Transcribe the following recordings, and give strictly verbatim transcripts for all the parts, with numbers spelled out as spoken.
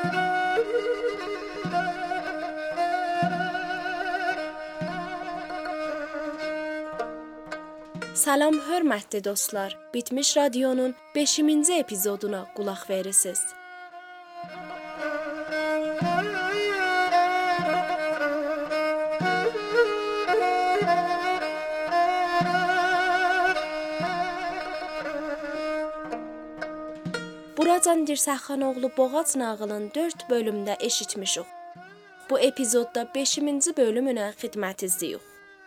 Salam hörmətli dostlar. Bitmiş Radionun beşinci epizoduna qulaq verirsiniz. Buracan Dirsəxanoğlu Boğac nağılın dörd bölümdə eşitmişik. Bu epizodda beşinci bölümünə xidmətinizdəyik.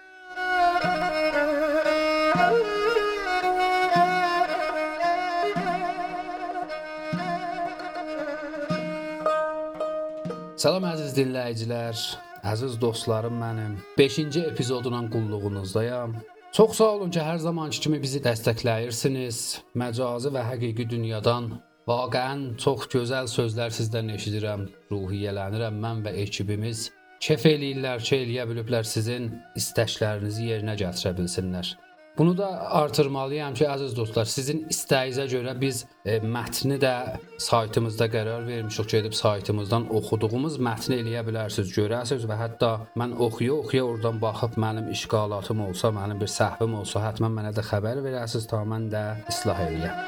Salam əziz dinləyicilər, əziz dostlarım mənim. beşinci epizodunun qulluğunuzdayam. Çox sağ olun ki, hər zamanki kimi bizi dəstəkləyirsiniz. Məcazi və həqiqi dünyadan vaqəən çox gözəl sözlər sizdən eşidirəm. Ruhiyyələnirəm mən və ekibimiz. Kef eləyirlər ki, eləyə biliblər sizin istəklərinizi yerinə gətirə bilsinlər. Bunu da artırmalıyam ki, əziz dostlar, sizin istəyinizə görə biz e, mətni də saytımızda qərar vermişik ki, edib saytımızdan oxuduğumuz mətni eləyə bilərsiniz, görəsiniz və hətta mən oxuya-oxuya oradan baxıb mənim işqalatım olsa, mənim bir səhvim olsa, həttəmən mənə də xəbər verəsiniz, ta mən də islah eləyəm.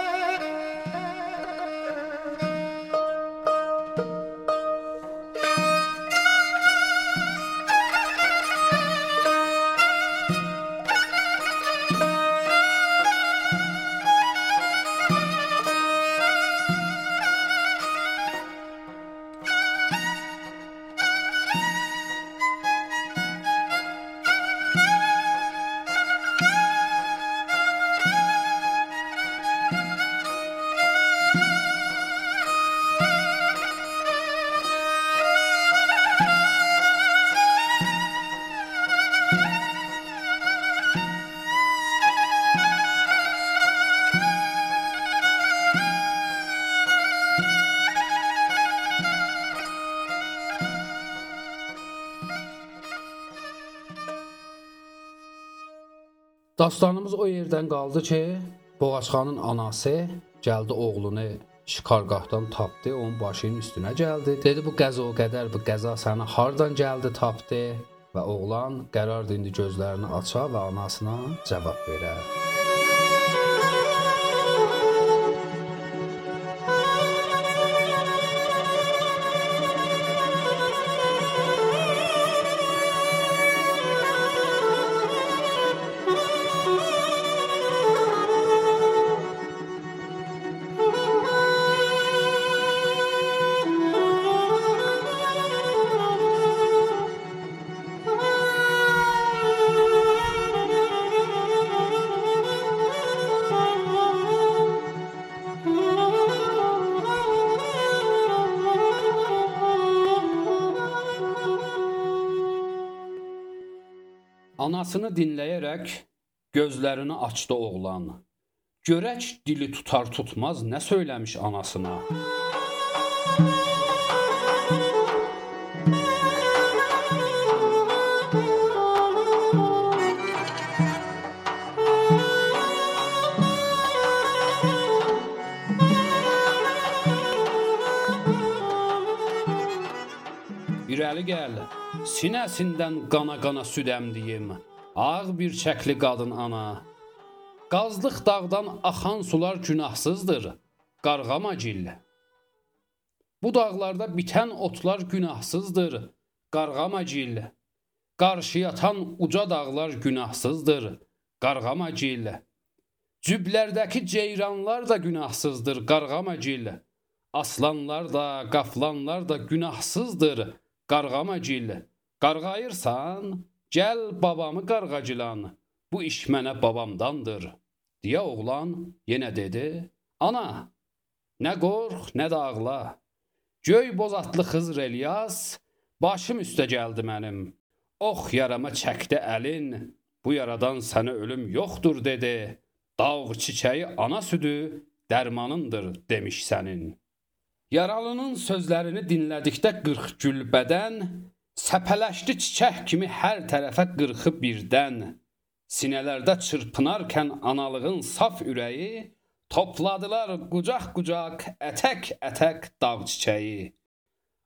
Dastanımız o yerdən qaldı ki, Boğaçxanın anası gəldi oğlunu şikargahdan tapdı, onun başının üstünə gəldi. Dedi, bu qəza o qədər, bu qəza səni hardan gəldi tapdı və oğlan qərardı indi gözlərini aça və anasına cavab verə. Anasını dinləyərək gözlərini açdı oğlan. Görək dili tutar tutmaz nə söyləmiş anasına. İrəli gəl, sinəsindən qana-qana süd əmdiyim, ağ bir çəkli qadın ana. Qazlıq dağdan axan sular günahsızdır, qarğamacil. Bu dağlarda bitən otlar günahsızdır, qarğamacil. Qarşı yatan uca dağlar günahsızdır, qarğamacil. Cüblərdəki ceyranlar da günahsızdır, qarğamacil. Aslanlar da, qaflanlar da günahsızdır, qarğamacil. Qarğayırsan, gəl babamı qarğacilan, bu iş mənə babamdandır. Deyə oğlan yenə dedi, ana, nə qorx, nə də ağla. Göy bozatlı Xızır Elyas, başım üstə gəldi mənim. Ox yarama çəkdi əlin, bu yaradan sənə ölüm yoxdur dedi. Dağ çiçəyi ana südü dərmanındır demiş sənin. Yaralının sözlərini dinlədikdə qırx gül bədən, səpələşdi çiçək kimi hər tərəfə qırxı birdən. Sinələrdə çırpınarkən analığın saf ürəyi, topladılar qucaq-qucaq, ətək-ətək dağ çiçəyi.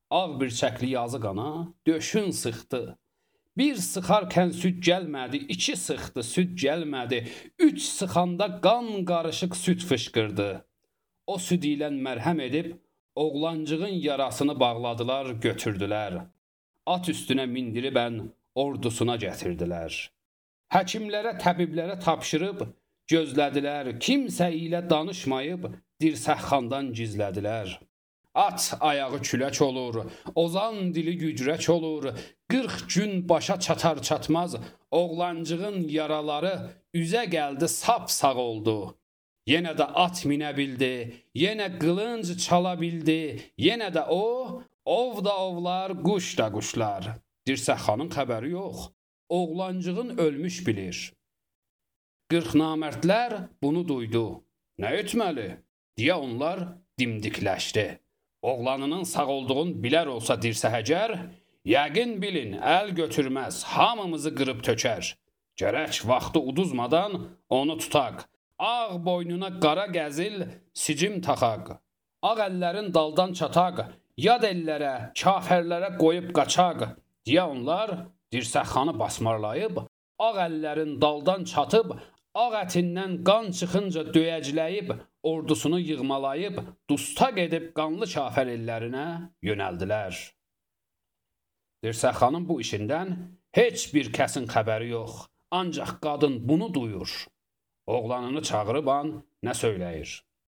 Ağ birçəkli yazıq ana döşün sıxdı. Bir sıxarkən süd gəlmədi, iki sıxdı, süd gəlmədi, üç sıxanda qan qarışıq süd fışqırdı. O süd ilə mərhəm edib oğlancığın yarasını bağladılar, götürdülər. At üstünə mindiribən ordusuna gətirdilər. Həkimlərə, təbiblərə tapşırıb gözlədilər, kimsə ilə danışmayıb dirsəxxandan gizlədilər. At ayağı külək olur, ozan dili gücrək olur, qırx gün başa çatar çatmaz, oğlancığın yaraları üzə gəldi, sap-sağ oldu. Yenə də at minə bildi, yenə qılınc çala bildi, yenə də o, ov da ovlar, quş da quşlar. Dirsəxanın xəbəri yox, oğlancığın ölmüş bilir. Qırx namərdlər bunu duydu. Nə etməli? Deyə onlar dimdikləşdi. Oğlanının sağ olduğunu bilər olsa dirsəhəcər, yəqin bilin, əl götürməz, hamımızı qırıb tökər. Gərək vaxtı uduzmadan onu tutaq. Ağ boynuna qara gəzil, sicim taxaq. Ağ əllərin daldan çataq, yad ellərə, kafərlərə qoyub qaçaq. Deyə onlar dirsəxanı basmarlayıb, ağ əllərin daldan çatıb, ağ ətindən qan çıxınca döyəcləyib, ordusunu yığmalayıb, dustaq edib qanlı kafər ellərinə yönəldilər. Dirsəxanın bu işindən heç bir kəsin xəbəri yox, ancaq qadın bunu duyur. Oğlanını çağırıb an nə söyləyir?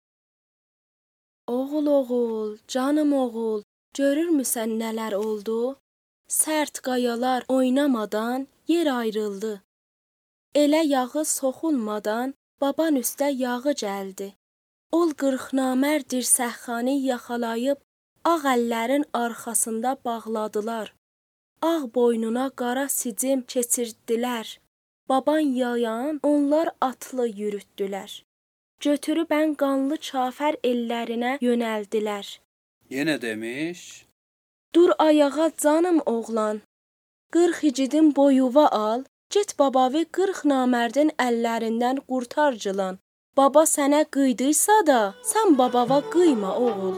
Oğul, oğul, canım oğul, görürmüsən nələr oldu? Sərt qayalar oynamadan yer ayrıldı. Elə yağı soxulmadan baban üstə yağı gəldi. Ol qırxnamər dirsəxxanı yaxalayıb ağ əllərin arxasında bağladılar. Ağ boynuna qara sicim keçirdilər. Baban yayan onlar atlı yürütdülər. Götürübən qanlı kafər ellərinə yönəldilər. Yenə demiş? Dur ayağa canım oğlan. Qırx icidin boyuva al. Get babavi qırx namərdin əllərindən qurtarcılan. Baba sənə qıydıysa da, sən babava qıyma oğul.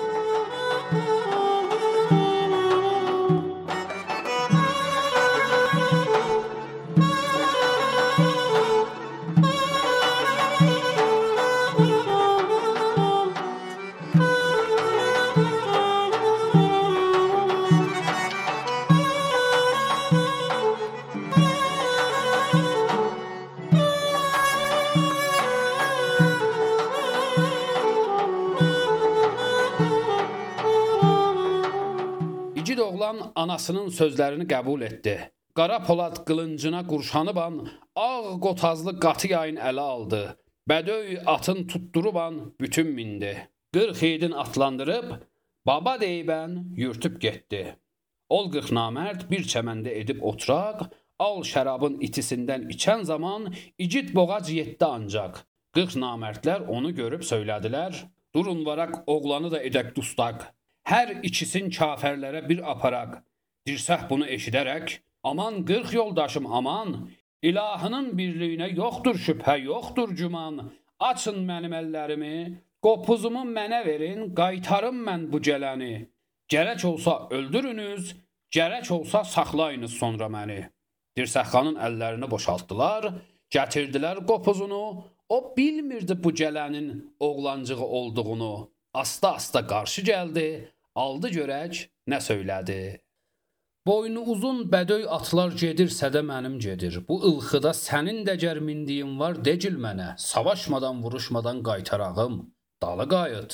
İgid oğlan anasının sözlərini qəbul etdi. Qara polad qılıncına qurşanıban, ağ qotazlı qatı yayın ələ aldı. Bədöy atın tutduruban bütün mindi. Qırx yiğidin atlandırıb, baba deyibən yürtüb getdi. Ol qırx namərd bir çəməndə edib oturaq, al şərabın itisindən içən zaman igid boğac yetdi ancaq. Qırx namərdlər onu görüb söylədilər, durun varaq oğlanı da edək dustaq. Hər ikisin kafərlərə bir aparaq. Dirsəx bunu eşidərək, aman qırx yoldaşım aman, ilahının birliyinə yoxdur şübhə, yoxdur güman. Açın mənim əllərimi, qopuzumu mənə verin, qaytarım mən bu gələni. Gərək olsa öldürünüz, gərək olsa saxlayınız sonra məni. Dirsəxxanın əllərini boşaltdılar, gətirdilər qopuzunu, o bilmirdi bu gələnin oğlancığı olduğunu. Asta-asta qarşı gəldi, aldı görək, nə söylədi. Boynu uzun bədöy atlar gedirsə də mənim gedir. Bu ılxıda sənin də gərmindiyin var, decil mənə. Savaşmadan, vuruşmadan qaytarağım, dalı qayıt.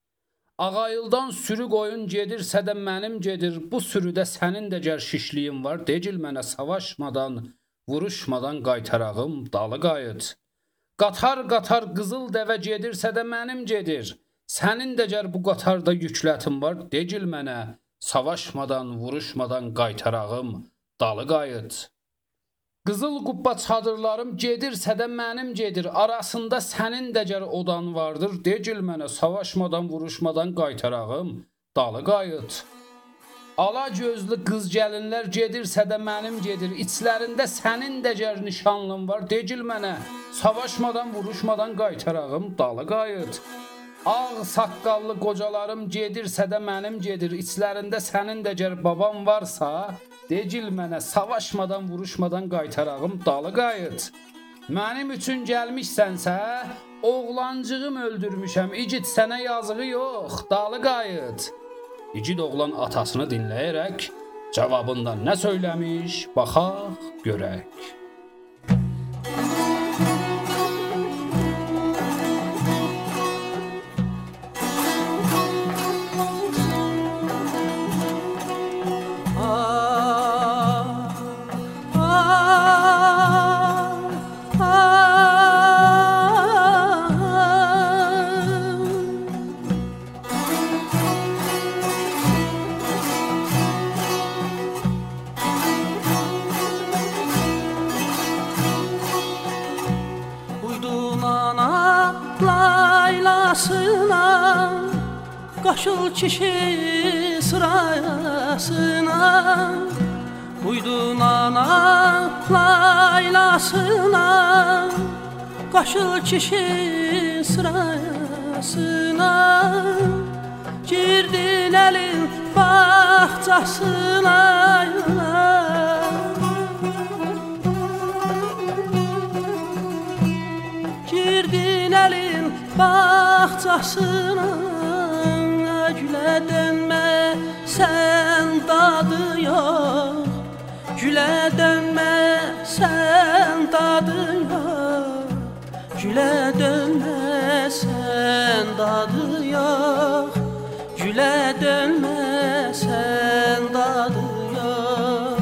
Ağayıldan sürü qoyun gedirsə də mənim gedir. Bu sürüdə sənin də gər şişliyin var, decil mənə. Savaşmadan, vuruşmadan qaytarağım, dalı qayıt. Qatar-qatar qızıl dəvə gedirsə də mənim gedir. Sənin də gər bu qatarda yüklətin var, decil mənə, savaşmadan, vuruşmadan qaytarağım, dalı qayıt. Qızıl qubba çadırlarım gedirsə də mənim gedir, arasında sənin də gər odan vardır, decil mənə, savaşmadan, vuruşmadan qaytarağım, dalı qayıt. Ala gözlü qız gəlinlər gedirsə də mənim gedir, içlərində sənin də gər nişanlın var, decil mənə, savaşmadan, vuruşmadan qaytarağım, dalı qayıt. Ağ saqqallı qocalarım gedirsə də mənim gedir. İçlərində sənin də gər babam varsa, decil mənə savaşmadan, vuruşmadan qaytarağım dalı qayıt. Mənim üçün gəlmişsənsə, oğlancığım öldürmüşəm. İgid sənə yazığı yox, dalı qayıt. İgid oğlan atasını dinləyərək cavabından nə söyləmiş, baxaq, görək. Qaşıl kişi sırasına, uydun ana laylasına. Qaşıl kişi sırasına, girdin elin bahçasına. Girdin elin bahçasına. Gülə dönmə, sən dadı yox. Gülə dönmə, sən dadı yox. Gülə dönmə, sən dadı yox. Gülə dönmə, sən dadı yox.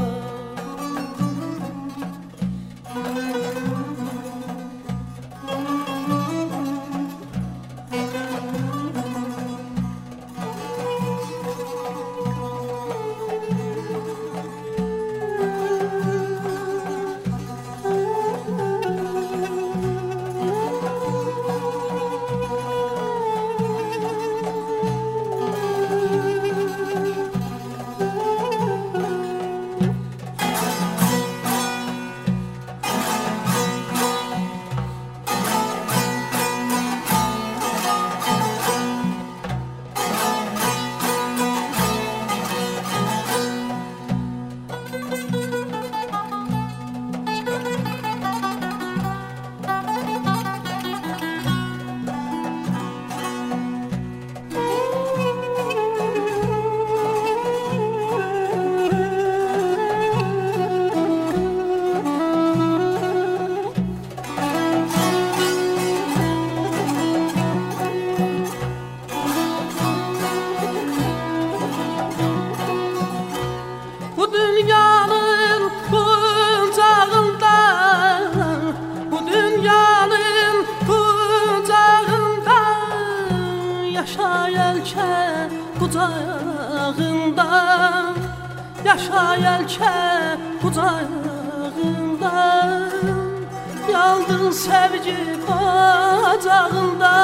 Yaşa yelke kucağında, yandın sevgi bacağında.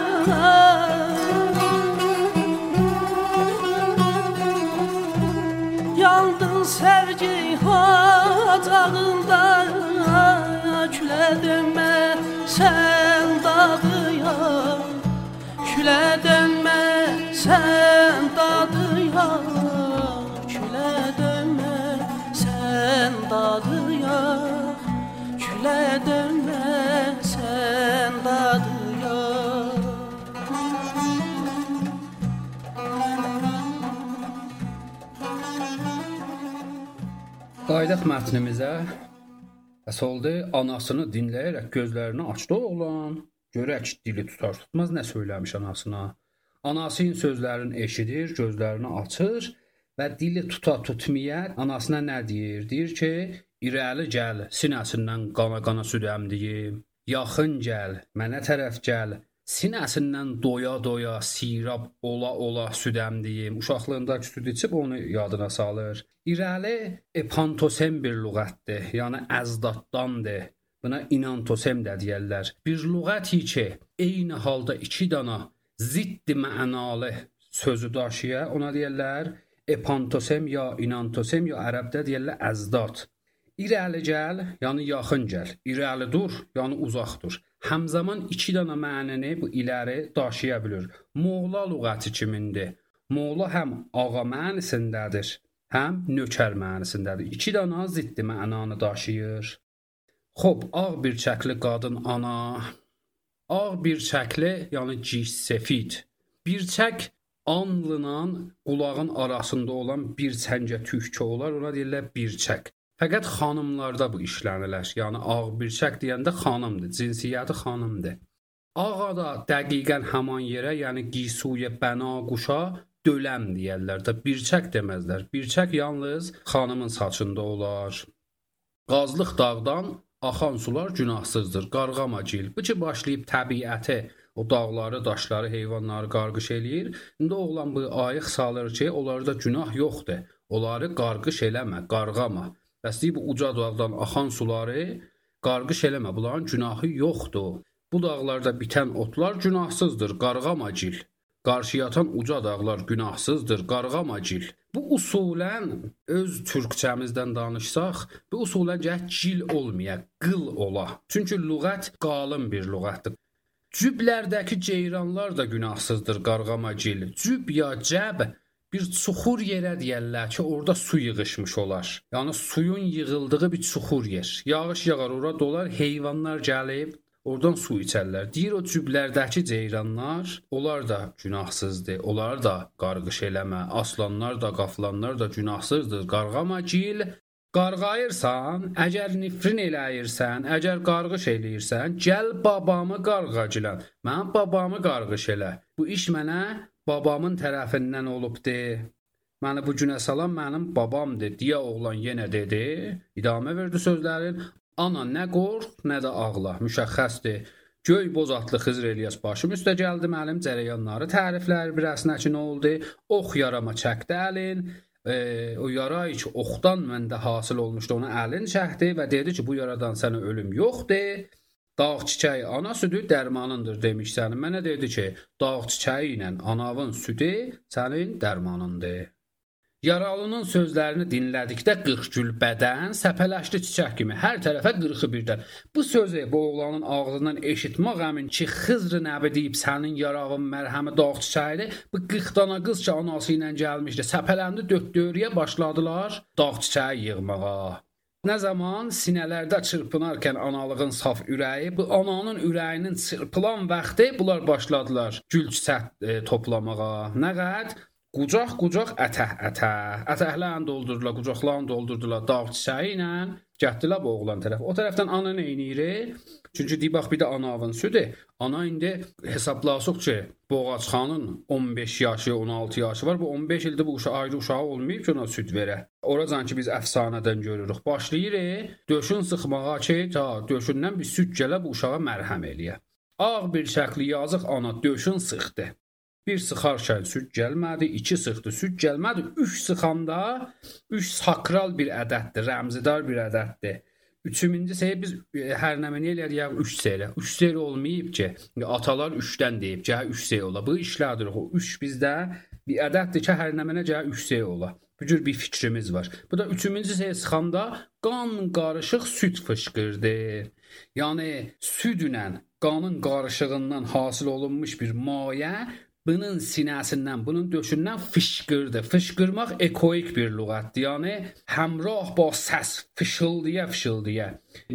Yandın sevgi bacağında. Külə dönmə, sən dadı yox. Külə dönmə, sən dadı yox. Külə dönmə, sən dadı yox. Külə dönmə, sən dadı yox. Qayıdaq mətnimizə. Əsoldu anasını dinləyərək gözlərini açdı oğlan. Görək dili tutar tutmaz nə söyləmiş anasına. Anasının sözlərini eşidir, gözlərini açır və dili tuta tutmaya anasına nə deyir? Deyir ki, irəli gəl, sinəsindən qana-qana süd əmdiyim. Yaxın gəl, mənə tərəf gəl, sinəsindən doya-doya, sirab ola-ola süd əmdiyim. Uşaqlığındakı süd içib onu yadına salır. İrəli epantosem bir lüğətdir, yəni əzdatdandır. Buna inantosem də deyərlər. Bir lüğəti ki, eyni halda iki dana ziddi mənalı sözü daşıya, ona deyərlər epantosem ya inantosem ya ərəbdə deyərlər əzdat. İrəli gəl, yəni yaxın gəl. İrəli dur, yəni uzaq dur. həmzaman iki dənə mənəni bu iləri daşıya bilir. Moğla lüğəti kimindir? Moğla həm ağa mənisindədir, həm nökər mənisindədir. İki dənə ziddi mənanı daşıyır. Xoş, ağ bir çəkli qadın ana. Ağ bir çəkli, yəni cis-sefid. Bir çək alnla qulağın arasında olan bir çəngə tükü olar, ona deyirlər bir çək. Fəqət xanımlarda bu işlənilər. Yəni ağ bir çək deyəndə xanımdır, cinsiyyəti xanımdır. Ağa da dəqiqən həman yerə, yəni gisuyə bəna quşa döləm deyərlər də, bir çək deməzlər. Bir çək yalnız xanımın saçında olar. Qazlıq dağdan axan sular günahsızdır, qarğamacil. Bu ki başlayıb təbiəti, o dağları, daşları, heyvanları qarqış eləyir. İndi oğlan bu ayıq salır ki, onlarda günah yoxdur. Onları qarqış eləmə, qarğama. Bəs deyib, bu uca dağdan axan suları qarqış eləmə, bunların günahı yoxdur. Bu dağlarda bitən otlar günahsızdır, qarğamacil. Qarşıya atan uca dağlar günahsızdır, qarğamacil. Bu usulən öz türkçəmizdən danışsaq, bu usulən gəh cil olmaya, qıl ola. Çünki lüğət qalın bir lüğətdir. Cüblərdəki ceyranlar da günahsızdır, qarğamacil. Cüb ya cəb bir çuxur yerə deyərlər ki, orada su yığışmış olar. Yəni suyun yığıldığı bir çuxur yer. Yağış yağar, ora dolar, heyvanlar gəlib oradan su içərlər. Deyir o cüblərdəki ceyranlar, onlar da günahsızdır. Onlar da qarğış eləmə. Aslanlar da, qaflanlar da günahsızdır. Qarğamacil. Qarğayırsan, əgər nifrin eləyirsən, əgər qarğış eləyirsən, gəl babamı qarğacilən. Mən babamı qarğış elə. Bu iş mənə babamın tərəfindən olubdur. Məni bu günə salan mənim babamdır, deyə oğlan yenə dedi. İdamə verdi sözlərin. Ana nə qorx, nə də ağla, müşəxxəsdir. Göy boz atlı Xızır İlyas başım üstə gəldi mənim, cərəyanları təriflər birəsinə ki, nə oldu? Ox yarama çəkdi əlin, e, o yara ki, oxdan məndə hasil olmuşdu, ona əlin çəkdi və dedi ki, bu yaradan sənə ölüm yoxdur. Dağ çiçəyi ana südü dərmanındır demiş sənin. Mənə dedi ki, dağ çiçəyi ilə anavın südü sənin dərmanındır. Yaralının sözlərini dinlədikdə qırxgül bədən səpələşdi çiçək kimi, hər tərəfə qırxı birdən. Bu sözü bu oğlanın ağzından eşitmək əmin ki, Xızr nəbi deyib sənin yaravın mərhəmi dağ çiçəyidir. Bu qırx dana qız ki, anası ilə gəlmişdi, səpələndi dörd-dörüyə başladılar dağ çiçəyi yığmağa. Nə zaman sinələrdə çırpınarkən analığın saf ürəyi, bu ananın ürəyinin çırpılan vaxtı bunlar başladılar gül çiçək e, toplamağa. Nə qəd? Qucaq-qucaq ətəh-ətəh. Ətəhlərini doldurdular, qucaqlarını doldurdular dağ çiçəyi ilə. Gətdilər bu oğlan tərəf. O tərəfdən ana neyniyir? Çünki deyib, bax, bir də anavın südü. Ana indi hesablasıq ki, Boğaçxanın on beş yaşı, on altı yaşı var. Bu on beş ildə bu uşaq ayrı uşağı olmayıb ki, ona süd verə. Oracan ki, biz əfsanədən görürük. Başlayır, döşün sıxmağa ki, ta döşündən bir süd gələ bu uşağa mərhəm eləyə. Ağ bir şəkli yazıq ana döşün sıxdı. Bir sıxarkən süd gəlmədi, iki sıxdı, süd gəlmədi, üç sıxanda, üç sakral bir ədəddir, rəmzidar bir ədəddir. Üçüncü seyir biz hər nəməni eləyək üç seyirə. Üç seyir olmayıb ki, atalar üçdən deyib ki, üç seyir ola. Bu işlədir, o üç bizdə bir ədəddir ki, hər nəmənə gələ üç seyir ola. Bu cür bir fikrimiz var. Bu da üçüncü seyir sıxanda qan qarışıq süd fışqırdı. Yəni südlə, qanın qarışığından hasil olunmuş bir mayə bunun sinəsindən, bunun döşündən fışqırdı. Fışqırmaq ekoik bir lüğətdir. Yəni həmrah ba səs, fışıldıya fışıldıya.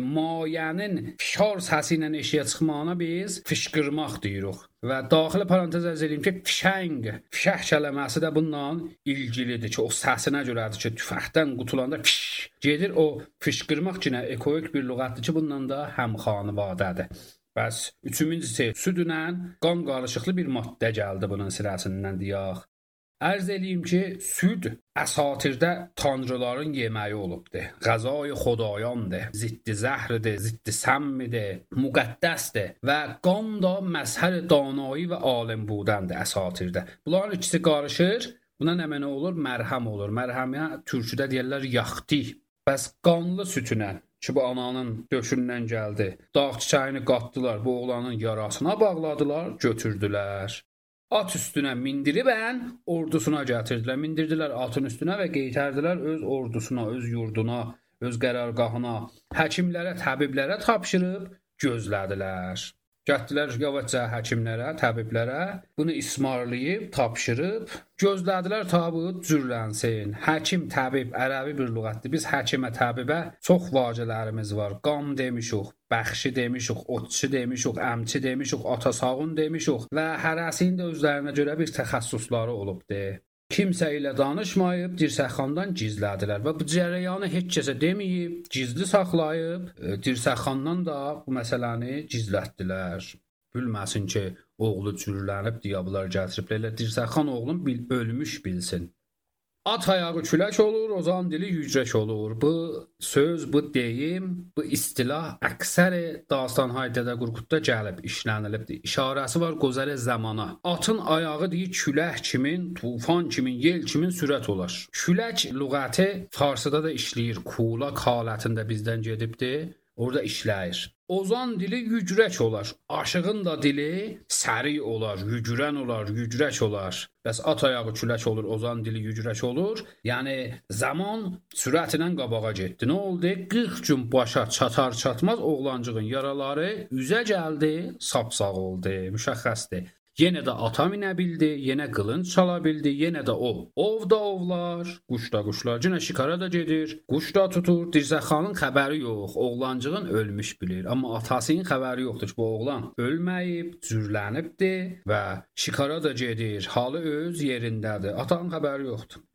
Mayənin fişar səsi ilə eşiyə çıxmağına biz fışqırmaq deyirik. Və daxili parantez əzz edeyim ki, fişəng, fişəh kələməsi də bununla ilgilidir ki, o səsinə görədir ki, tüfəxdən qutulanda fiş gedir. O fışqırmaq ki, ekoik bir lüğətdir ki, bununla da həmxanivadədir. Bəs üçüncü seyir südünə qan qarışıqlı bir maddə gəldi bunun sirəsindən deyək. Ərz eləyim ki, süd əsatirdə tanrıların yeməyi olubdur. Qəzai xodayandır, ziddi zəhridir, ziddi səmmidir, müqəddəsdir və qan da məzhər danayı və alim budəndir əsatirdə. Bunların ikisi qarışır, buna nə mənə olur? Mərhəm olur. Mərhəmiyə türküdə deyərlər yaxti. Bəs qanlı sütünə ki, bu ananın döşündən gəldi. Dağ çiçəyini qatdılar, bu oğlanın yarasına bağladılar, götürdülər. At üstünə mindiribən, ordusuna gətirdilər. Mindirdilər atın üstünə və qeytərdilər öz ordusuna, öz yurduna, öz qərargahına. Həkimlərə, təbiblərə tapşırıb, gözlədilər. Getdilər yavaşca həkimlərə, təbiblərə, bunu ismarlayıb, tapşırıb, gözlədilər tabut cürlənsin. Həkim, təbib ərəbi bir lüğətdir. Biz həkimə, təbibə çox vacələrimiz var. Qam demişik, bəxşi demişik, otçu demişik, əmçi demişik, atasağın demişik və hərəsinin də özlərinə görə bir təxəssüsları olubdur. Kimsə ilə danışmayıb, dirsəxandan gizlədilər və bu cərəyanı heç kəsə deməyib, gizli saxlayıb, dirsəxandan da bu məsələni gizlətdilər. Bilməsin ki, oğlu cürlənib, diablar gətiriblər, dirsəxan oğlum bil, ölmüş bilsin. At ayağı külək olur, ozan dili yücrək olur. Bu söz, bu deyim, bu istilah əksəri Dastan-i Dədə Qorqudda gəlib, işlənilibdir. İşarəsi var gözəl zamana. Atın ayağı deyir külək kimin, tufan kimin, yel kimin sürət olar. Külək lüğəti farsıda da işləyir. Kulaq halətində bizdən gedibdir. Orada işləyir. Ozan dili yücrək olar. Aşığın da dili səri olar, yücürən olar, yücrək olar. Bəs at ayağı külək olur, ozan dili yücrək olur. Yəni zaman sürətlə qabağa getdi. Nə oldu? qırx gün başa çatar çatmaz oğlancığın yaraları üzə gəldi, sapsağ oldu. Müşəxxəsdir. Yenə də ata minə bildi, yenə qılınc çala bildi, yenə də o. Ov da ovlar, quş da quşlar, yenə şikara da gedir, quş da tutur. Dirsəxanın xəbəri yox, oğlancığın ölmüş bilir. Amma atasının xəbəri yoxdur ki, bu oğlan ölməyib, cürlənibdir və şikara da gedir, halı öz yerindədir. Atanın xəbəri yoxdur.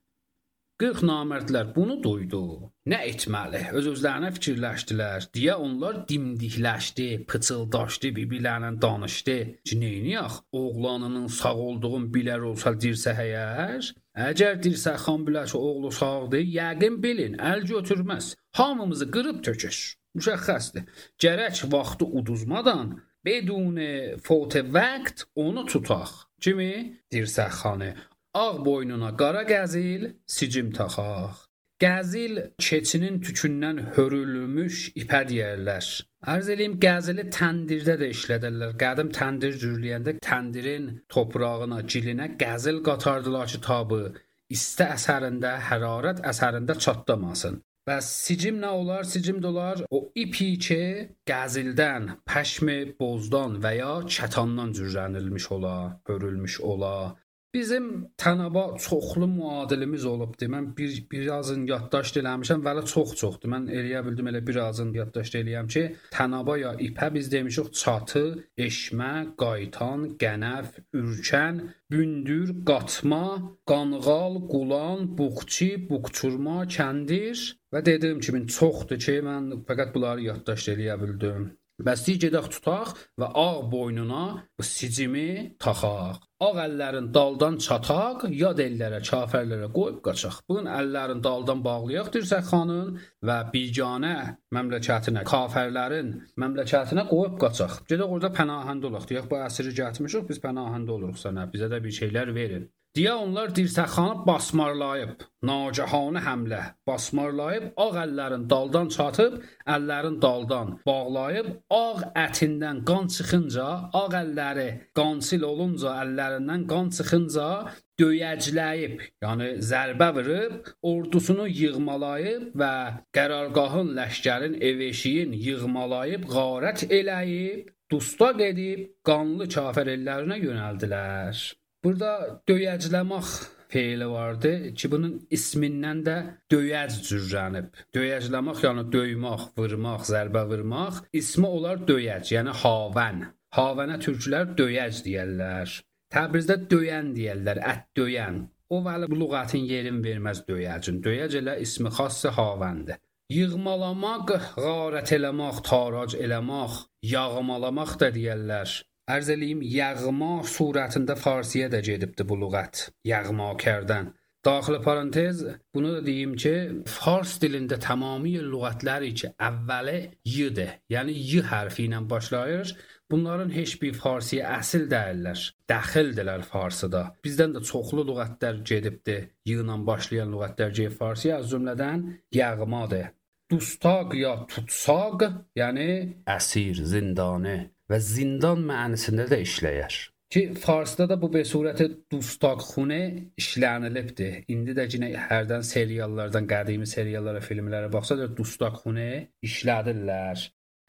qırx namərdlər bunu duydu. Nə etməli? Öz-özlərinə fikirləşdilər. Deyə onlar dimdikləşdi, pıçıldaşdı, bir-birlərlə danışdı. Ki, neyniyək? Oğlanının sağ olduğunu bilər olsa dirsə həyər? Əgər dirsəxan bilər ki, oğlu sağdır, yəqin bilin, əl götürməz. Hamımızı qırıb tökür. Müşəxxəsdir. Gərək vaxtı uduzmadan, bedun fot vaxt onu tutaq. Kimi? Dirsəxanı. Ağ boynuna qara qəzil, sicim taxaq. Qəzil keçinin tükündən hörülmüş ipə deyərlər. Ərz eləyim, qəzili təndirdə də işlədirlər. Qədim təndir cürləyəndə təndirin toprağına, gilinə qəzil qatardılar ki, tabı isti əsərində, hərarət əsərində çatlamasın. Bəs sicim nə olar? Sicim də olar o ipi ki, qəzildən, pəşmi bozdan və ya kətandan cürlənilmiş ola, hörülmüş ola. Bizim Tənaba çoxlu müadilimiz olubdur. Mən bir birazın yaddaşd eləmişəm, vələ çox-çoxdur. Mən eləyə bildim elə birazın yaddaşd eləyəm ki, Tənaba ya ipə biz demişik çatı, eşmə, qaytan, qənəf, ürkən, bündür, qatma, qanğal, qulan, buqçi, buqçurma, kəndir və dediyim kimi çoxdur ki, mən fəqət bunları yaddaşd eləyə bildim. Bəs deyir, gedək tutaq və ağ boynuna bu sicimi taxaq. Ağ əllərin daldan çataq, yad ellərə, kafərlərə qoyub qaçaq. Bunun əllərin daldan bağlayaq dirsəxanın və biganə məmləkətinə, kafərlərin məmləkətinə qoyub qaçaq. Gedək orada pənahəndə olaq. Deyək, bu əsiri gətirmişik, biz pənahəndə oluruq sənə, bizə də bir şeylər verin. Deyə onlar dirsəxanı basmarlayıb, nagahanı həmlə basmarlayıb, ağ əllərin daldan çatıb, əllərin daldan bağlayıb, ağ ətindən qan çıxınca, ağ əlləri qansıl olunca, əllərindən qan çıxınca döyəcləyib, yəni zərbə vurub, ordusunu yığmalayıb və qərargahın, ləşkərin, ev-eşiyin yığmalayıb, qarət eləyib, dustaq edib, qanlı kafir ellərinə yönəldilər. Burada döyəcləmək feili vardı ki, bunun ismindən də döyəc cürrənib. Döyəcləmək, yəni döymək, vurmaq, zərbə vurmaq. İsmi olar döyəc, yəni havən. Havənə türklər döyəc deyərlər. Təbrizdə döyən deyərlər, ət döyən. O vəli bu lüğətin yerin verməz döyəcin. Döyəc elə ismi xası havəndir. Yığmalamaq, qarət eləmək, tarac eləmək, yağmalamaq da deyərlər. Ərz eləyim, yağma surətində farsiyə də gedibdir bu lüğət, yağma kərdən. Daxili parantez, bunu da deyim ki, fars dilində tamamilə lüğətləri ki, əvvəli y-dir, yəni y hərfi ilə başlayır. Bunların heç bir farsiyə əsil deyirlər, dəxildirlər farsıda. Bizdən də çoxlu lüğətlər gedibdir, y ilə başlayan lüğətlər gedib farsiyə, az cümlədən yağmadır. Dustaq ya tutsaq, yəni əsir, zindanı. Və zindan mənisində də işləyər. Ki, farsda da bu besurəti dustaqxune işlənilibdir. İndi də yine hərdən seriallardan, qədimi seriallara, filmlərə baxsa da dustaqxune işlədirlər.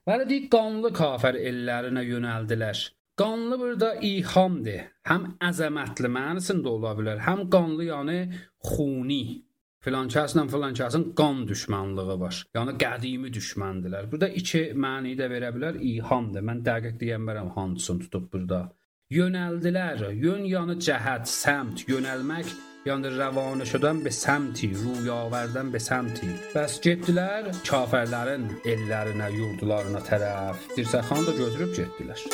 Bəli deyik, qanlı kafir ellərinə yönəldilər. Qanlı burada ihamdır. Həm əzəmətli mənasında ola bilər, həm qanlı yəni xuni. Filan kəslə filan kəsin qan düşmənliyi var. Yəni qədimi düşməndilər. Burada iki məni də verə bilər, ihamdır. Mən dəqiq deyəmərəm hansını tutub burada. Yönəldilər, yön yəni cəhət, səmt, yönəlmək, yəni rəvanə şudən be səmti, rüyavərdən be səmti. Bəs getdilər kafirlərin ellərinə, yurdularına tərəf. Dirsəxanı da götürüb getdilər.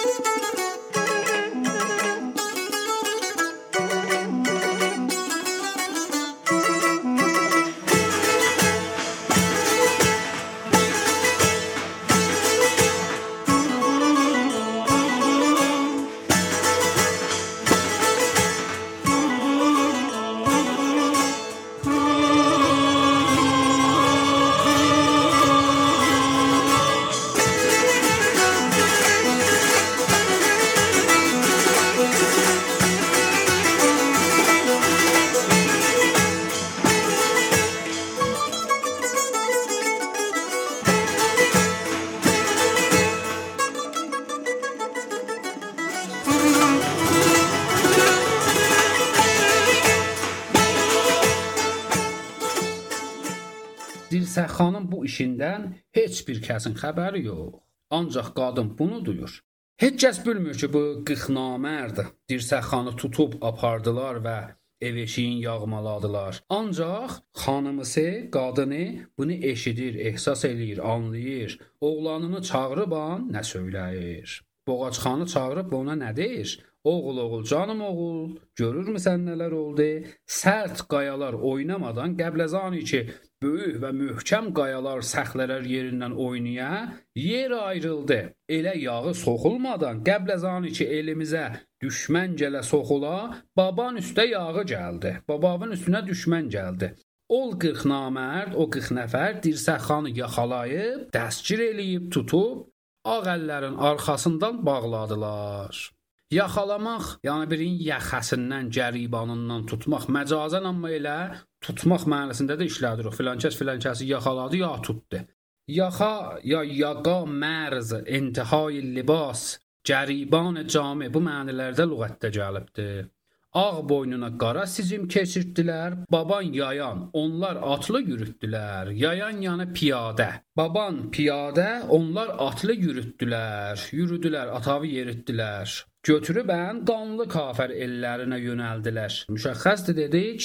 Dirsəxanın bu işindən heç bir kəsin xəbəri yox. Ancaq qadın bunu duyur. Heç kəs bilmir ki, bu qıxnamərd Dirsəxanı tutub apardılar və ev-eşiyin yağmaladılar. Ancaq xanımısı, qadını bunu eşidir, ehsas eləyir, anlayır. Oğlanını çağırıb an nə söyləyir? Boğaçxanı çağırıb ona nə deyir? Oğul, oğul, canım oğul, görürmüsən nələr oldu? Sərt qayalar oynamadan Qəbləzani ki, böyük və möhkəm qayalar səxlələr yerindən oynaya, yer ayrıldı. Elə yağı soxulmadan Qəbləzani ki, elimizə düşmən gələ soxula, baban üstə yağı gəldi. Babavın üstünə düşmən gəldi. Ol qırx namərd, o qırx nəfər Dirsəxanı yaxalayıb, dəstgir eləyib, tutub, ağ əllərin arxasından bağladılar. Yaxalamaq, yəni birin yaxasından, gəribanından tutmaq, məcazən amma elə tutmaq mənasında da işlədir. O filan kəs filan kəsi yaxaladı, ya tutdu. Yaxa, ya yaqa, mərz, intihai libas, gəriban cami bu mənilərdə lüğətdə gəlibdir. Ağ boynuna qara sicim keçirdilər, baban yayan, onlar atlı yürütdülər, yayan yanı piyadə. Baban piyadə, onlar atlı yürütdülər, yürüdülər, atavı yeritdilər. Götürübən qanlı kafir ellərinə yönəldilər. Müşəxxəsdir dedik.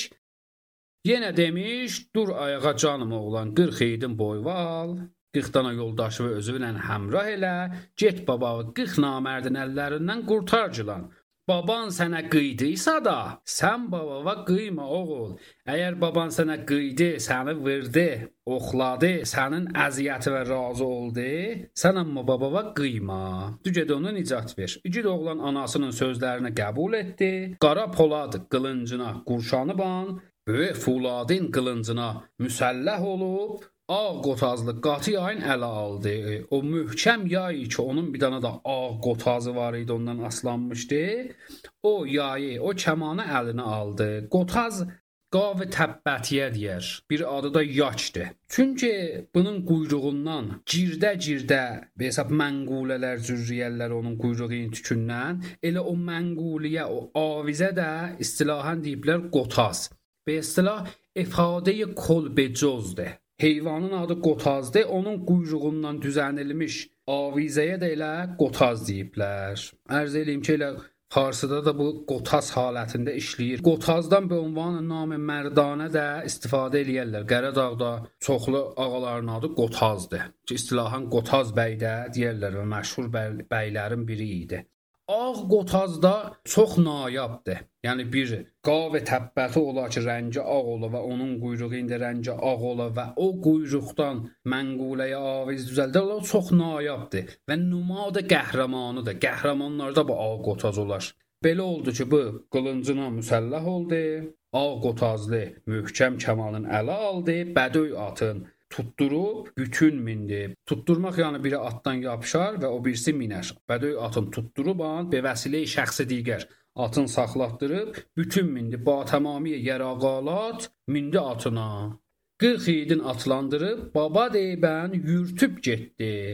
Yenə demiş, dur ayağa canım oğlan, qırx eydin boyva al, qırx dana yoldaşı və özünlə həmrah elə, get babağı qırx namərdin əllərindən qurtarcılan. Baban sənə qıydıysa da, sən babava qıyma oğul. Əgər baban sənə qıydı, səni vurdu, oxladı, sənin əziyyəti və razı oldu, sən amma babava qıyma. Dügədə ona nicat ver. İgid oğlan anasının sözlərini qəbul etdi. Qara polad qılıncına qurşanıb an, böyük fuladın qılıncına müsəlləh olub, ağ qotazlı qatı yayın ələ aldı. O möhkəm yay ki, onun bir dana da ağ qotazı var idi, ondan aslanmışdı. O yayı, o kəmanı əlinə aldı. Qotaz qav-ı təbbətiyə deyər. Bir adı da yaçdır. Çünki bunun quyruğundan girdə-girdə hesab mənqulələr, zürriyələr onun quyruğunun tükündən, elə o mənquliyə, o avizə də istilahən deyiblər qotaz. Be istilah ifadə-i kolbecozdur. Heyvanın adı qotazdır, onun quyruğundan düzənilmiş avizəyə də elə qotaz deyiblər. Ərz eləyim ki, elə Farsıda da bu qotaz halətində işləyir. Qotazdan bir ünvanı namı mərdanə də istifadə eləyərlər. Qəradağda çoxlu ağaların adı qotazdır. Ki, istilahən qotaz bəy də deyərlər və məşhur bəy, bəylərin biri idi. Ağ qotazda çox nayabdır. Yəni bir qav-ı təbbəti ola ki, rəngi ağ ola və onun quyruğunda rəngi ağ ola və o quyruqdan mənquləyə aviz düzəldir, o çox nayabdır və nümadə qəhrəmanıdır. Qəhrəmanlarda bu ağ qotaz olar. Belə oldu ki, bu qılıncına müsəlləh oldu, ağ qotazlı möhkəm kəmanın ələ aldı, bədöy atın tutturub bütün mindi. Tutturmaq yəni biri atdan yapışar və o birisi minər. Bədöy atın tutturub an, be vəsilə-i şəxsi digər atın saxlatdırıb, bütün mindi. Ba tamamiyə yəraqalat mindi atına. qırx yiğidin atlandırıb, baba deyibən yürtüb getdi.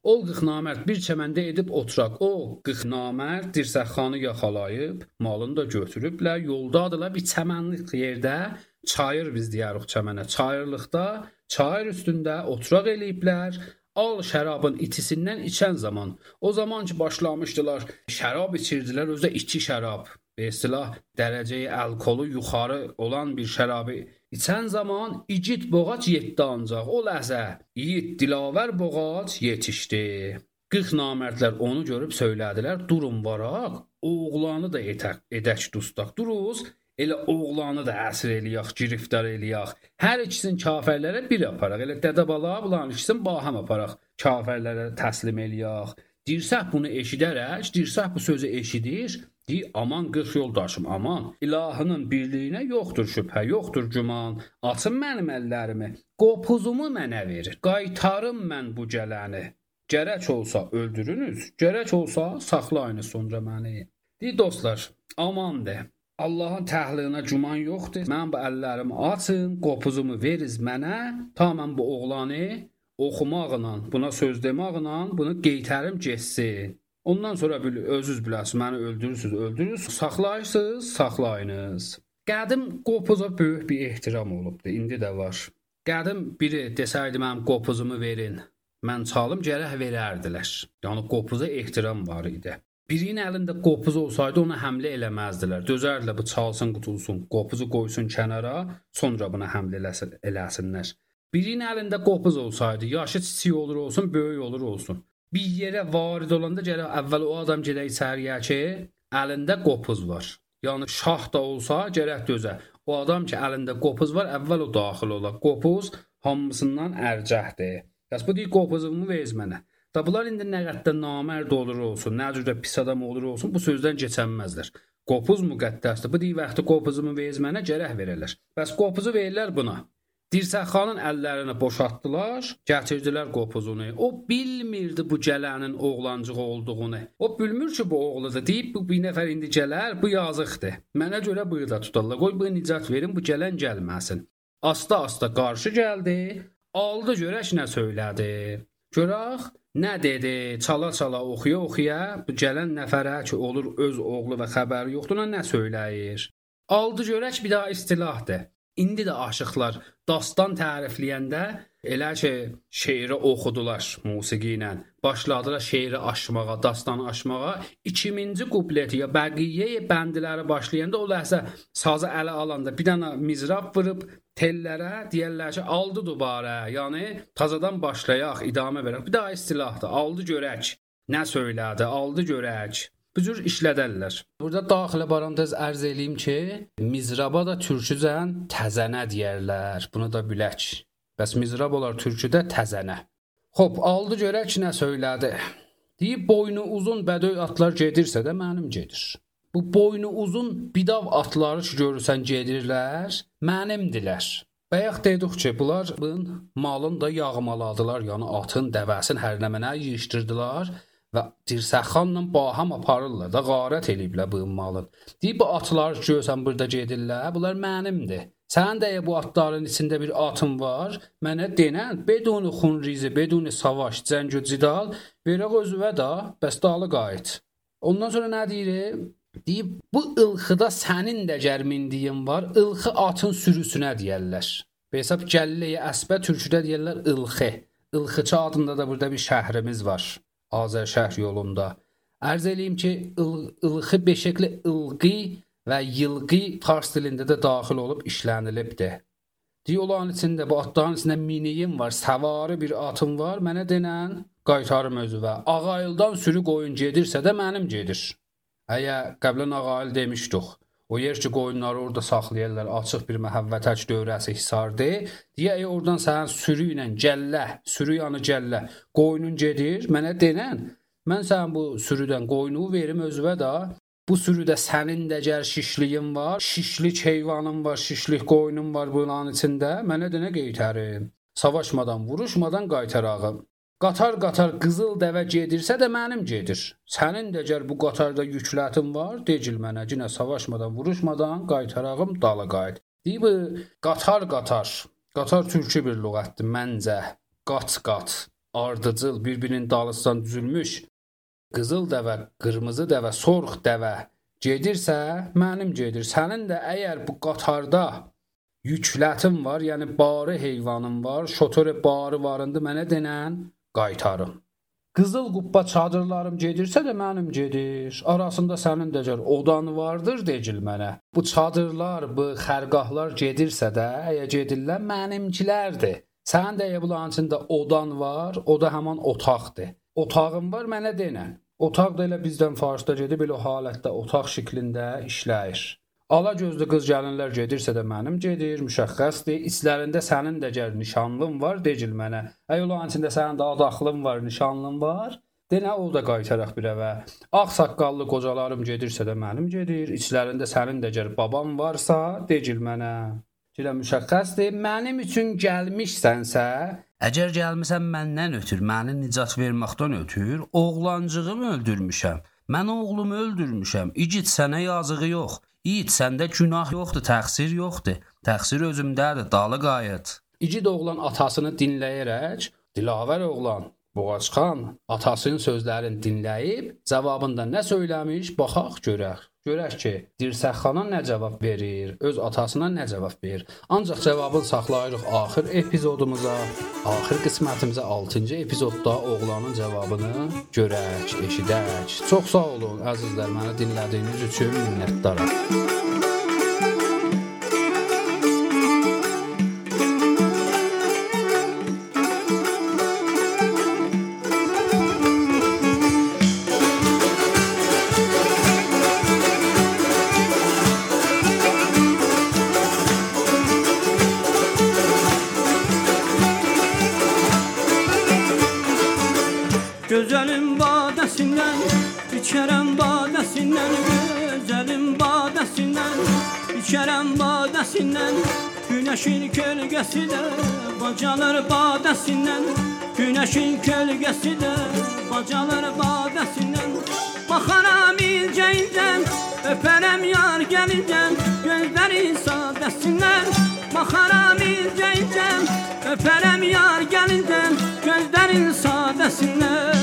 Ol qırx namərd bir çəməndə edib oturaq. O qırx namərd dirsəxanı yaxalayıb, malını da götürüblər, yoldadılar bir çəmənlik yerdə, çayır biz deyirik çəmənə. Çayırlıqda, çayır üstündə oturaq eləyiblər. Al şərabın itisindən içən zaman, o zaman ki başlamışdılar, şərab içirdilər, özdə içi şərab. Be istilah dərəcəyi alkolu yuxarı olan bir şərabı içən zaman igid boğac yetdi ancaq. O ləhzə yiğit dilavər boğac yetişdi. qırx namərdlər onu görüb söylədilər, durun varaq, oğlanı da etək, edək dustaq. Duruz, elə oğlanı da əsir eləyək, giriftar eləyək. Hər ikisini kafirlərə bir aparaq. Elə dədə bala bulan ikisini baham aparaq. Kafirlərə təslim eləyək. Dirsəh bunu eşidərək, dirsəh bu sözü eşidir. Deyir, aman qırx yoldaşım, aman. İlahının birliyinə yoxdur şübhə, yoxdur güman. Açın mənim əllərimi, qopuzumu mənə verir. Qaytarım mən bu gələni. Gərək olsa öldürünüz, gərək olsa saxlayınız sonra məni. Deyir, dostlar, aman de. Allahın təhliyinə güman yoxdur. Mən bu əllərimi açın, qopuzumu veriz mənə. Ta mən bu oğlanı oxumaqla, buna söz demaqla bunu qeytərim getsin. Ondan sonra özünüz biləsiniz, məni öldürürsünüz, öldürürsünüz, saxlayırsınız, saxlayınız. Qədim qopuza böyük bir ehtiram olubdur, indi də var. Qədim biri desəydi mənim qopuzumu verin, mən çalım gərək verərdilər. Yəni qopuza ehtiram var idi. Birinin əlində qopuz olsaydı ona həmlə eləməzdilər. Dözərdilər bu çalsın, qutulsun, qopuzu qoysun kənara, sonra buna həmlə eləsinlər. Birinin əlində qopuz olsaydı, yaşı kiçik olur olsun, böyük olur olsun. Bir yerə varid olanda gərək əvvəl o adam gedək içəriyə ki, əlində qopuz var. Yəni şah da olsa gərək dözə. O adam ki, əlində qopuz var, əvvəl o daxil olar. Qopuz hamısından ərcəhdir. Bəs bu deyir, qopuzumu veriz mənə. Da bunlar indi nə qədər namərd olur olsun, nə cürdə pis adam olur olsun, bu sözdən keçənməzlər. Qopuz müqəddəsdir. Bu deyir, vaxtı qopuzumu veriz mənə, gərək verərlər. Bəs qopuzu verirlər buna. Dirsəxanın əllərini boşaltdılar, gətirdilər qopuzunu. O bilmirdi bu gələnin oğlancığı olduğunu. O bilmir ki, bu oğludur. Deyib, bu bir nəfər indi gələr, bu yazıqdır. Mənə görə burada tutarlar. Qoy, bu nicat verin, bu gələn gəlməsin. Asta-asta qarşı gəldi, aldı görək nə söylədi. Görək, nə dedi, çala-çala oxuya-oxuya, bu gələn nəfərə ki, olur öz oğlu və xəbəri yoxdur, nə söyləyir. Aldı görək bir daha istilahdır. İndi də aşıqlar dastan tərifləyəndə elə ki, şeiri oxudular musiqi ilə. Başladılar şeiri aşmağa, dastanı aşmağa. ikinci kupleti ya bəqiyyə bəndləri başlayanda o ləhzə sazı ələ alanda bir dənə mizrab vurub tellərə deyərlər ki, aldı dubarə. Yəni tazadan başlayaq, idamə verək. Bir daha istilahdır. Aldı görək. Nə söylədi? Aldı görək. Bu cür işlədərlər. Burada daxilə parantez ərz eləyim ki, mizraba da türkücən təzənə deyərlər. Bunu da bilək. Bəs mizrab olar türküdə təzənə. Xoş, aldı görək nə söylədi. Deyib, boynu uzun bədöy atlar gedirsə də mənim gedir. Bu boynu uzun bidav atları ki, görürsən gedirlər, mənimdilər. Bayaq dedik ki, bunlar malın da yağmaladılar, yəni atın, dəvəsin hər nə mənə yığışdırdılar. Və dirsəxanla baham aparırlar da, qarət eləyiblər bu malın. Deyib, bu atlar görsən burada gedirlər, bunlar mənimdir. Sən də bu atların içində bir atın var, mənə denən, beduni xunrizi, beduni savaş, cəngü cidal, verək özüvə da, bəs dalı qayıt. Ondan sonra nə deyir? Deyib, bu ılxıda sənin də gərmindiyin var, ılxı atın sürüsünə deyərlər. Hesab Gəllə-i Əsbə türküdə deyərlər ılxı. Ilxıçı adında da burada bir şəhrimiz var. Azər şəhər yolunda. Ərz eləyim ki, ılxı beşəkli ılqi və yılqi fars dilində də daxil olub işlənilibdir. Diyoların içində, bu atların içində miniyim var, səvarı bir atım var, mənə denən qaytarım özüvə. Ağayıldan sürü qoyun gedirsə də mənim gedir. Əgər qəblən ağayıl demişdik, o yer ki, qoyunları orada saxlayırlar, açıq bir məhəvvətəc dövrəsi hisardır. Deyə, oradan sənin sürü ilə gəllə, sürü yanı gəllə, qoyunun gedir, mənə denən, mən sənin bu sürüdən qoyunu verim özüvə da, bu sürüdə sənin də gəl şişliyin var, şişlik heyvanın var, şişlik qoyunun var bunların içində, mənə denə qeytərim. Savaşmadan, vuruşmadan qaytarağım. Qatar-qatar qızıl dəvə gedirsə də mənim gedir. Sənin də gəl bu qatarda yüklətin var, decil mənə, cinə savaşmadan, vuruşmadan, qaytarağım, dalı qayıt. Deyib, qatar-qatar, qatar türkü bir lüğətdir, məncə, qat-qat, ardıcıl, bir-birinin dalısından düzülmüş qızıl dəvə, qırmızı dəvə, sorğ dəvə gedirsə, mənim gedir. Sənin də əgər bu qatarda yüklətin var, yəni barı heyvanın var, şotor barı varındı mənə denən qaytarım. Qızıl qubba çadırlarım gedirsə də mənim gedir. Arasında sənin dəcər odan vardır decil mənə. Bu çadırlar, bu xərqahlar gedirsə də, əgər gedirlər mənimkilərdir. Sənin də bunların içində odan var, o da həman otaqdır. Otağım var mənə denən. Otaq da elə bizdən Farsda gedib, elə o halətdə otaq şəklində işləyir. Ala gözlü qız gəlinlər gedirsə də mənim gedir, müşəxxəsdir. İçlərində sənin də gəl nişanlın var, decil mənə. Əgər olan içində sənin də adaxlın var, nişanlın var, denə o da qaytaraq bir əvə. Ağ saqqallı qocalarım gedirsə də mənim gedir. İçlərində sənin də gəl babam varsa, decil mənə. Gilə müşəxxəsdir. Mənim üçün gəlmişsənsə, əgər gəlmisən məndən ötür, məni nicat verməkdən ötür, oğlancığımı öldürmüşəm. Mən oğlumu öldürmüşəm. İgid sənə yazığı yox. İgid səndə günah yoxdur, təqsir yoxdur. Təqsir özümdədir, dalı qayıt. İgid oğlan atasını dinləyərək, Dilavər oğlan, Boğaçxan atasının sözlərini dinləyib, cavabında nə söyləmiş, baxaq görək. Görək ki, Dirsəxana nə cavab verir, öz atasına nə cavab verir. Ancaq cavabını saxlayırıq axır epizodumuza, axır qismətimizə altıncı epizodda oğlanın cavabını görək, eşidək. Çox sağ olun əzizlər, məni dinlədiyiniz üçün minnətdaram. Gözəlim badəsindən, içərəm badəsindən, gözəlim badəsindən, içərəm badəsindən, günəşin kölgəsi də bacalır badəsindən, günəşin kölgəsi də bacalır badəsindən. Baxaram incə-incəm, öpərəm yar gəlincəm, gözləri sadəsindən. Baxaram incə-incəm, öpərəm yar gəlincəm, gözlərin sadəsindən.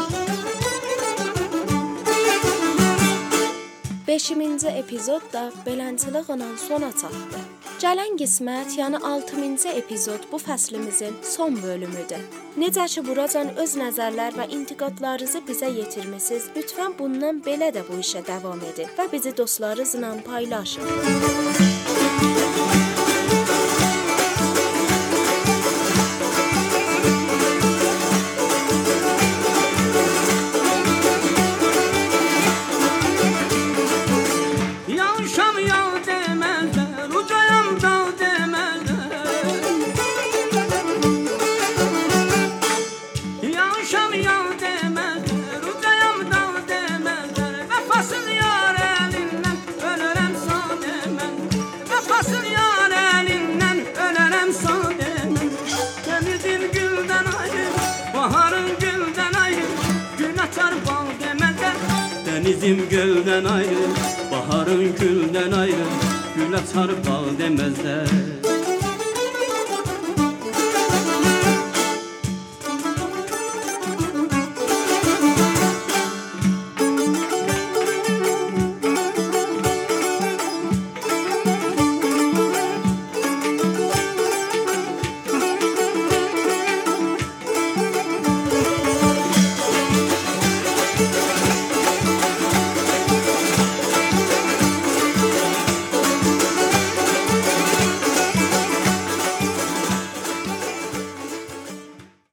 beşinci epizod da beləncəliklə sona çatdı. Gələn qismət, yəni altıncı epizod bu fəslimizin son bölümüdür. Necə ki, buracan öz nəzərlər və intiqadlarınızı bizə yetirmisiniz, lütfən bundan belə də bu işə davam edin və bizi dostlarınızla paylaşın. Denizim göldən ayrı, baharın güldən ayrı, gül açar bal deməzlər.